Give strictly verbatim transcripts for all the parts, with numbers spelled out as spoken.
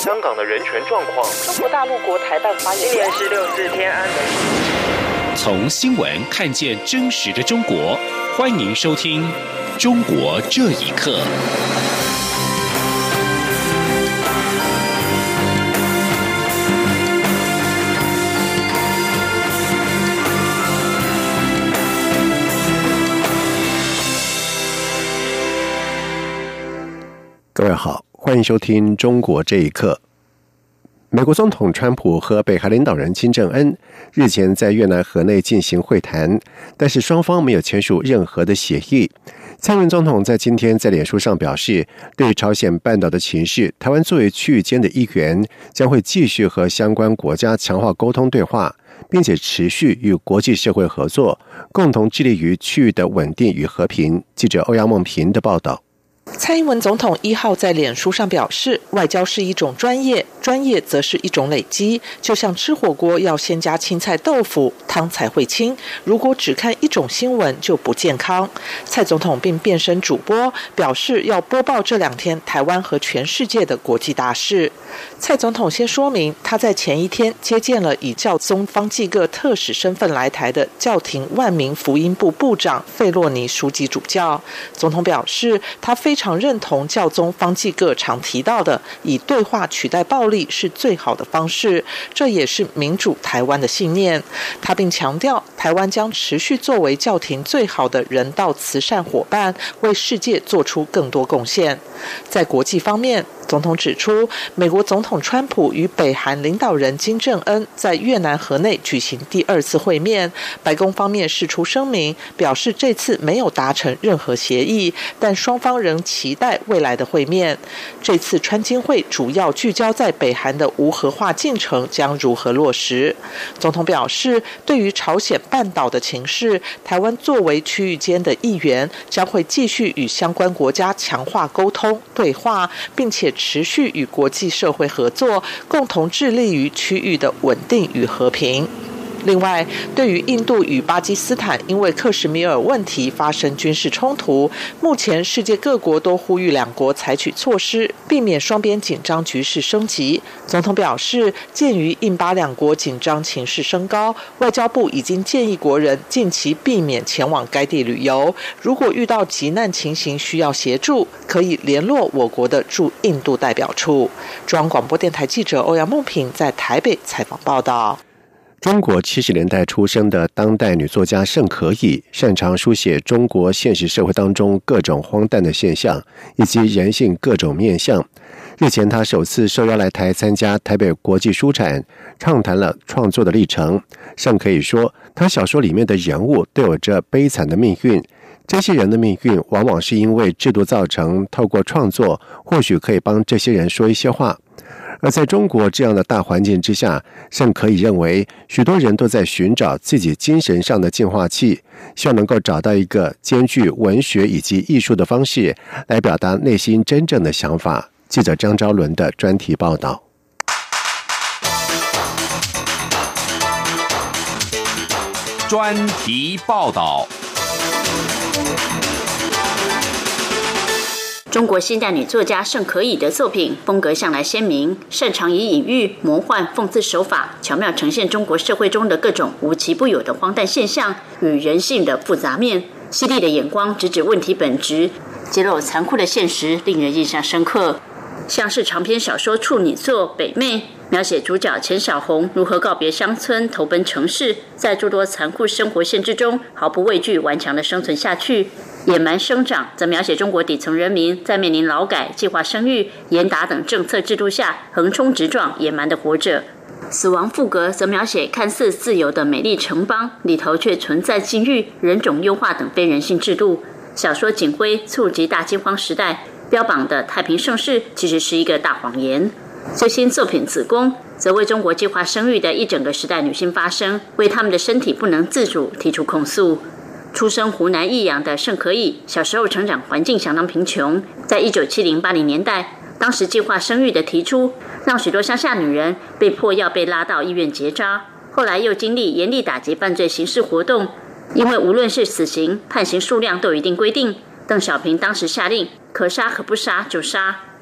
香港的人权状况。 中国大陆国台办发言人。 今年是六四天安门。 从新闻看见真实的中国，欢迎收听《中国这一刻》。 各位好，欢迎收听《中国这一刻》。美国总统川普和北韩领导人金正恩日前在越南河内进行会谈，但是双方没有签署任何的协议。蔡英文总统在今天在脸书上表示，对于朝鲜半岛的情势，台湾作为区域间的一员，将会继续和相关国家强化沟通对话，并且持续与国际社会合作，共同致力于区域的稳定与和平。记者欧阳梦平的报道。 蔡英文总统一号在脸书上表示，外交是一种专业，专业则是一种累积，就像吃火锅要先加青菜豆腐，汤才会清，如果只看一种新闻就不健康。蔡总统并变身主播，表示要播报这两天台湾和全世界的国际大事。蔡总统先说明，他在前一天接见了以教宗方济各特使身份来台的教廷万民福音部部长费洛尼枢机主教。总统表示，他非常认同教宗方济各常提到的以对话取代暴力是最好的方式，这也是民主台湾的信念。他并强调，台湾将持续作为教廷最好的人道慈善伙伴，为世界做出更多贡献。在国际方面，总统指出，美国总统川普与北韩领导人金正恩在越南河内举行第二次会面，白宫方面释出声明，表示这次没有达成任何协议，但双方仍期待未来的会面。这次川金会主要聚焦在北韩的无核化进程将如何落实。总统表示，对于朝鲜半岛的情势，台湾作为区域间的一员，将会继续与相关国家强化沟通对话，并且持续与国际社会合作，共同致力于区域的稳定与和平。另外，对于印度与巴基斯坦因为克什米尔问题发生军事冲突，目前世界各国都呼吁两国采取措施，避免双边紧张局势升级。总统表示，鉴于印巴两国紧张情势升高，外交部已经建议国人近期避免前往该地旅游，如果遇到急难情形需要协助，可以联络我国的驻印度代表处。中央广播电台记者欧阳梦平在台北采访报道。 中国七十年代出生的当代女作家盛可以，擅长书写中国现实社会当中各种荒诞的现象，以及人性各种面向。日前，她首次受邀来台参加台北国际书展，畅谈了创作的历程。盛可以说，她小说里面的人物都有着悲惨的命运，这些人的命运往往是因为制度造成，透过创作，或许可以帮这些人说一些话。而在中国这样的大环境之下，盛可以认为许多人都在寻找自己精神上的净化器，希望能够找到一个兼具文学以及艺术的方式来表达内心真正的想法。记者张昭伦的专题报道。 专题报道。 中国现代女作家盛可以的作品风格向来鲜明，擅长以隐喻、魔幻、讽刺手法，巧妙呈现中国社会中的各种无奇不有的荒诞现象与人性的复杂面。犀利的眼光直指问题本质，揭露残酷的现实，令人印象深刻。像是长篇小说处女作《北妹》，描写主角钱小红如何告别乡村，投奔城市，在诸多残酷生活限制中毫不畏惧顽强地生存下去。野蛮生长则描写中国底层人民在面临劳改、计划生育、严打等政策制度下横冲直撞、野蛮地活着。死亡赋格则描写看似自由的美丽城邦里头却存在禁欲、人种优化等非人性制度。小说《警徽》触及大饥荒时代，标榜的太平盛世其实是一个大谎言。最新作品《子宫》则为中国计划生育的一整个时代女性发声，为她们的身体不能自主提出控诉。出生湖南益阳的盛可以，小时候成长环境相当贫穷，在一九七零八零年代，当时计划生育的提出，让许多乡下女人被迫要被拉到医院结扎。后来又经历严厉打击犯罪刑事活动，因为无论是死刑、判刑数量都有一定规定，邓小平当时下令可杀可不杀就杀，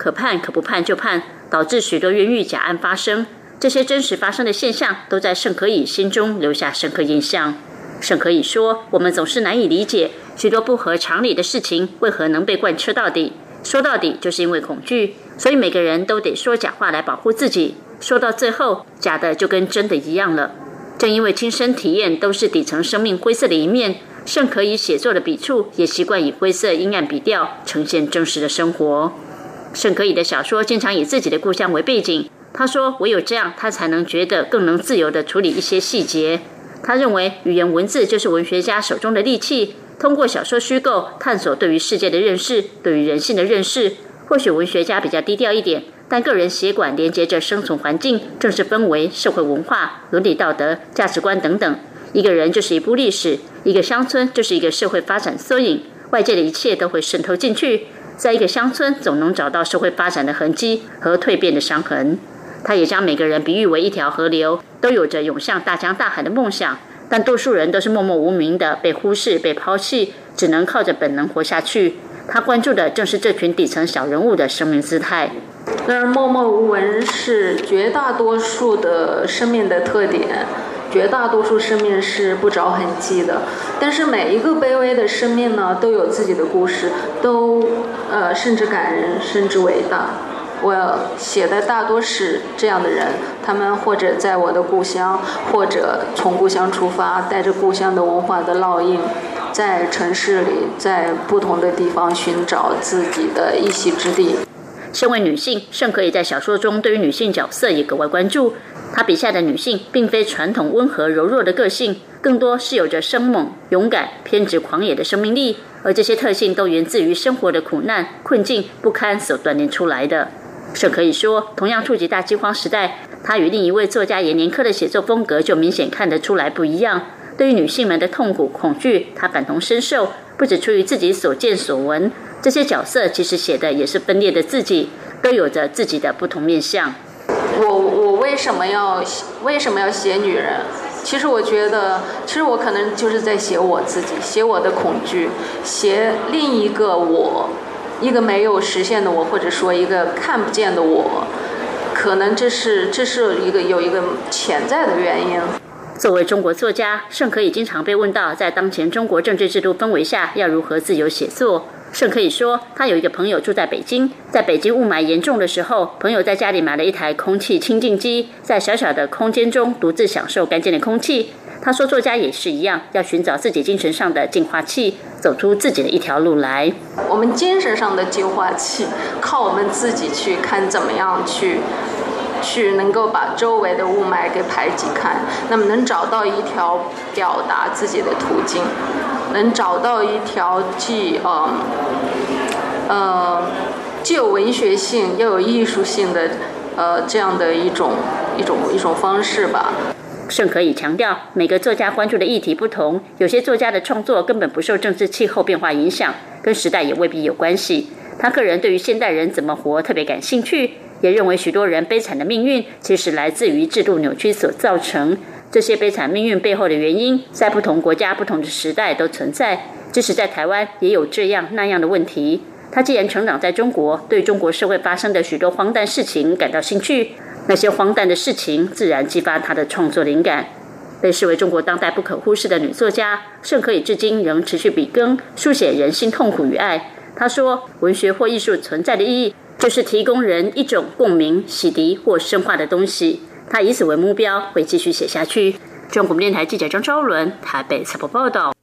可判可不判就判，导致许多冤狱假案发生。这些真实发生的现象都在盛可以心中留下深刻印象。盛可以说，我们总是难以理解许多不合常理的事情为何能被贯彻到底，说到底就是因为恐惧，所以每个人都得说假话来保护自己，说到最后假的就跟真的一样了。正因为亲身体验都是底层生命灰色的一面，盛可以写作的笔触也习惯以灰色阴暗笔调呈现真实的生活。盛可以的小说经常以自己的故乡为背景，他说唯有这样他才能觉得更能自由地处理一些细节。他认为语言文字就是文学家手中的利器，通过小说虚构探索对于世界的认识，对于人性的认识。或许文学家比较低调一点，但个人血管连接着生存环境、政治氛围、社会文化、伦理道德、价值观等等。一个人就是一部历史，一个乡村就是一个社会发展缩影，外界的一切都会渗透进去，在一个乡村总能找到社会发展的痕迹和蜕变的伤痕。他也将每个人比喻为一条河流，都有着涌向大江大海的梦想，但多数人都是默默无名的被忽视、被抛弃，只能靠着本能活下去。他关注的正是这群底层小人物的生命姿态。 然而默默无闻是绝大多数的生命的特点，绝大多数生命是不着痕迹的，但是每一个卑微的生命呢，都有自己的故事，都呃甚至感人，甚至伟大。我写的大多是这样的人，他们或者在我的故乡，或者从故乡出发，带着故乡的文化的烙印，在城市里，在不同的地方寻找自己的一席之地。 身为女性，盛可以在小说中对于女性角色也格外关注。她笔下的女性并非传统温和柔弱的个性，更多是有着生猛、勇敢、偏执狂野的生命力，而这些特性都源自于生活的苦难、困境、不堪所锻炼出来的。盛可以说，同样触及大饥荒时代，他与另一位作家阎连科的写作风格就明显看得出来不一样。对于女性们的痛苦、恐惧，他感同身受，不只出于自己所见所闻，这些角色其实写的也是分裂的自己，都有着自己的不同面向。 我我为什么要为什么要写女人？其实我觉得，其实我可能就是在写我自己，写我的恐惧，写另一个我，一个没有实现的我，或者说一个看不见的我，可能这是这是一个有一个潜在的原因。 作为中国作家，盛可以经常被问到，在当前中国政治制度氛围下，要如何自由写作。盛可以说，他有一个朋友住在北京，在北京雾霾严重的时候，朋友在家里买了一台空气清净机，在小小的空间中独自享受干净的空气。他说，作家也是一样，要寻找自己精神上的净化器，走出自己的一条路来。 我们精神上的净化器，靠我们自己去看怎么样去去能够把周围的雾霾给排挤开，那么能找到一条表达自己的途径，能找到一条既呃呃既有文学性又有艺术性的呃这样的一种一种一种方式吧。 盛可以强调，每个作家关注的议题不同，有些作家的创作根本不受政治气候变化影响，跟时代也未必有关系。他个人对于现代人怎么活特别感兴趣，也认为许多人悲惨的命运其实来自于制度扭曲所造成。这些悲惨命运背后的原因，在不同国家、不同的时代都存在，即使在台湾也有这样那样的问题。他既然成长在中国，对中国社会发生的许多荒诞事情感到兴趣，那些荒诞的事情自然激发他的创作灵感。被视为中国当代不可忽视的女作家，盛可以至今仍持续笔耕，书写人性痛苦与爱。她说，文学或艺术存在的意义，就是提供人一种共鸣、洗涤或深化的东西。她以此为目标，会继续写下去。中国电台记者张昭伦台北采访报道。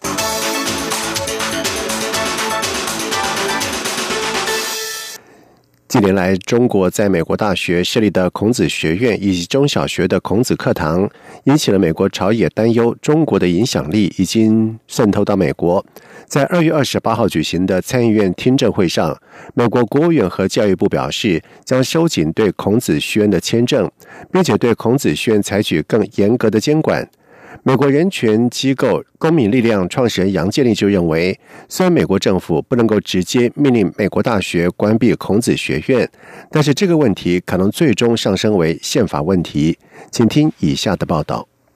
近年来，中国在美国大学设立的孔子学院以及中小学的孔子课堂，引起了美国朝野担忧中国的影响力已经渗透到美国。在二月二十八号举行的参议院听证会上，美国国务院和教育部表示，将收紧对孔子学院的签证，并且对孔子学院采取更严格的监管。美国人权机构公民力量创始人杨建立就认为，虽然美国政府不能够直接命令美国大学关闭孔子学院，但是这个问题可能最终上升为宪法问题。请听以下的报道。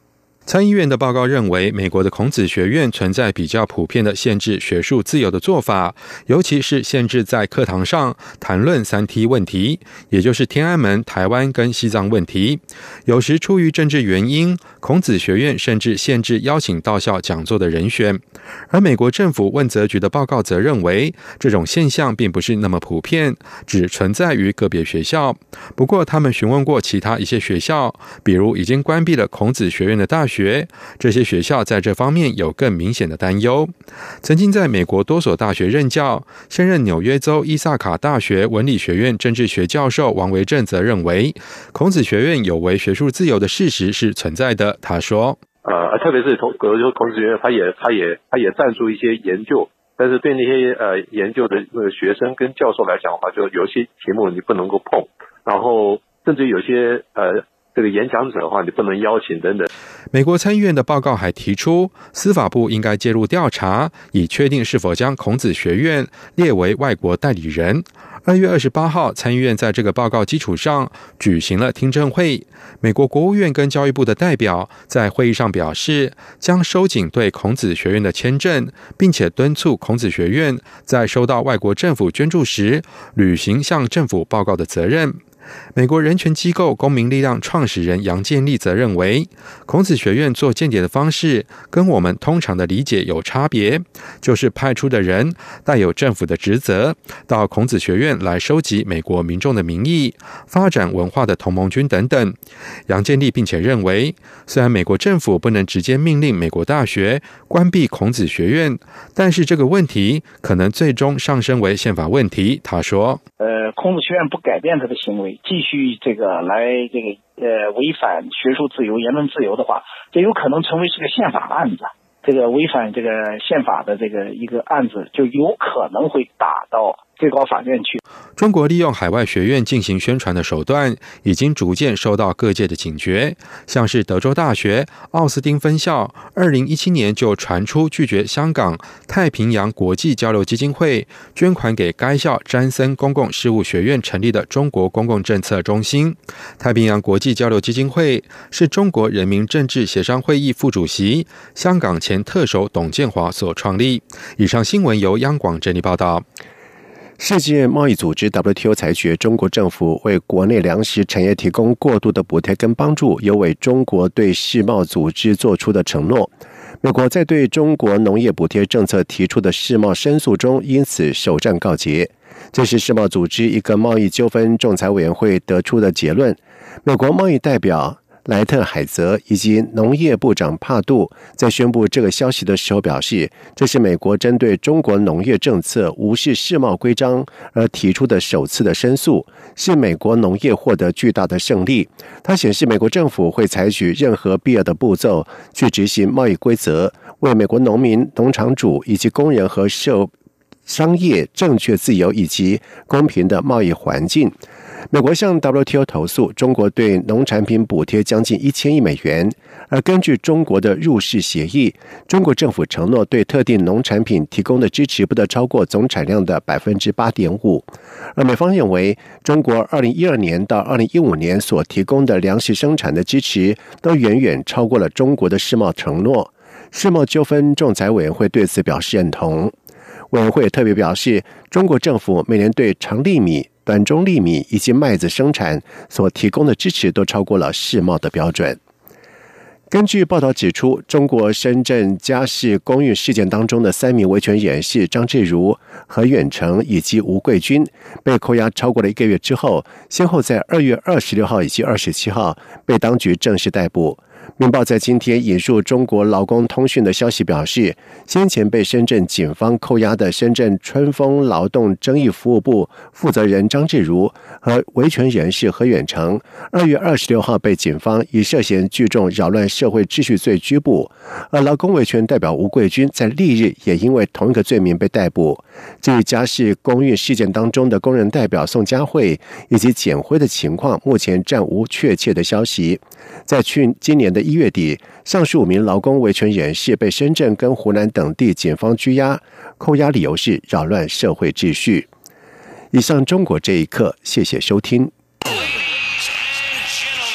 参议院的报告认为，美国的孔子学院存在比较普遍的限制学术自由的做法，尤其是限制在课堂上谈论三 T 问题，也就是天安门、台湾跟西藏问题。有时出于政治原因，孔子学院甚至限制邀请到校讲座的人选。而美国政府问责局的报告则认为，这种现象并不是那么普遍，只存在于个别学校。不过他们询问过其他一些学校，比如已经关闭了孔子学院的大学，这些学校在这方面有更明显的担忧。曾经在美国多所大学任教，现任纽约州伊萨卡大学文理学院政治学教授王维正则认为，孔子学院有违学术自由的事实是存在的。他说呃，特别是孔孔子学院，他也他也他也赞助一些研究，但是对那些呃研究的呃学生跟教授来讲的话，就有些题目你不能够碰，然后甚至有些呃这个演讲者的话，你不能邀请等等。 美国参议院的报告还提出，司法部应该介入调查，以确定是否将孔子学院列为外国代理人。二月二十八号，参议院在这个报告基础上举行了听证会。美国国务院跟教育部的代表在会议上表示，将收紧对孔子学院的签证，并且敦促孔子学院在收到外国政府捐助时，履行向政府报告的责任。美国人权机构公民力量创始人杨建立则认为，孔子学院做间谍的方式跟我们通常的理解有差别，就是派出的人带有政府的职责，到孔子学院来收集美国民众的民意，发展文化的同盟军等等。杨建立并且认为，虽然美国政府不能直接命令美国大学关闭孔子学院，但是这个问题可能最终上升为宪法问题。他说呃，孔子学院不改变他的行为，继续这个来这个呃违反学术自由、言论自由的话，这有可能成为是个宪法案子。这个违反这个宪法的这个一个案子，就有可能会打到最高法院去。 中国利用海外学院进行宣传的手段，已经逐渐受到各界的警觉。像是德州大学奥斯汀分校，二零一七年就传出拒绝香港太平洋国际交流基金会捐款给该校詹森公共事务学院成立的中国公共政策中心。太平洋国际交流基金会是中国人民政治协商会议副主席、香港前特首董建华所创立。以上新闻由央广整理报道。 世界贸易组织 W T O 裁决中国政府为国内粮食产业提供过度的补贴跟帮助，有违中国对世贸组织做出的承诺。美国在对中国农业补贴政策提出的世贸申诉中，因此首战告捷。这是世贸组织一个贸易纠纷仲裁委员会得出的结论。美国贸易代表莱特海泽以及农业部长帕杜在宣布这个消息的时候表示，这是美国针对中国农业政策无视世贸规章而提出的首次的申诉，是美国农业获得巨大的胜利。它显示美国政府会采取任何必要的步骤去执行贸易规则，为美国农民、农场主以及工人和社商业正确、自由以及公平的贸易环境。美国向 W T O 投诉，中国对农产品补贴将近一千亿美元，而根据中国的入世协议，中国政府承诺对特定农产品提供的支持不得超过总产量的 百分之八点五。而美方认为，中国二零一二年到二零一五年所提供的粮食生产的支持都远远超过了中国的世贸承诺。世贸纠纷仲裁委员会对此表示认同。委员会特别表示，中国政府每年对长粒米、短中粒米以及麦子生产所提供的支持都超过了世贸的标准。根据报道指出，中国深圳家事公寓事件当中的三名维权人士张志如、何远成以及吴桂军被扣押超过了一个月之后，先后在二月二十六号以及二十七号被当局正式逮捕。明报在今天引述中国劳工通讯的消息表示，先前被深圳警方扣押的深圳春风劳动争议服务部负责人张志如和维权人士何远成，二月二十六号被警方以涉嫌聚众扰乱社会秩序罪拘捕，而劳工维权代表吴桂军在翌日也因为同一个罪名被逮捕。至于家事公寓事件当中的工人代表宋佳慧以及简辉的情况，目前暂无确切的消息。在去今年的一月底，上述五名劳工维权人士被深圳跟湖南等地警方拘押，扣押理由是扰乱社会秩序。以上中国这一刻，谢谢收听。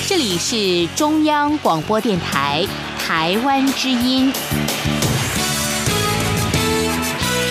这里是中央广播电台台湾之音。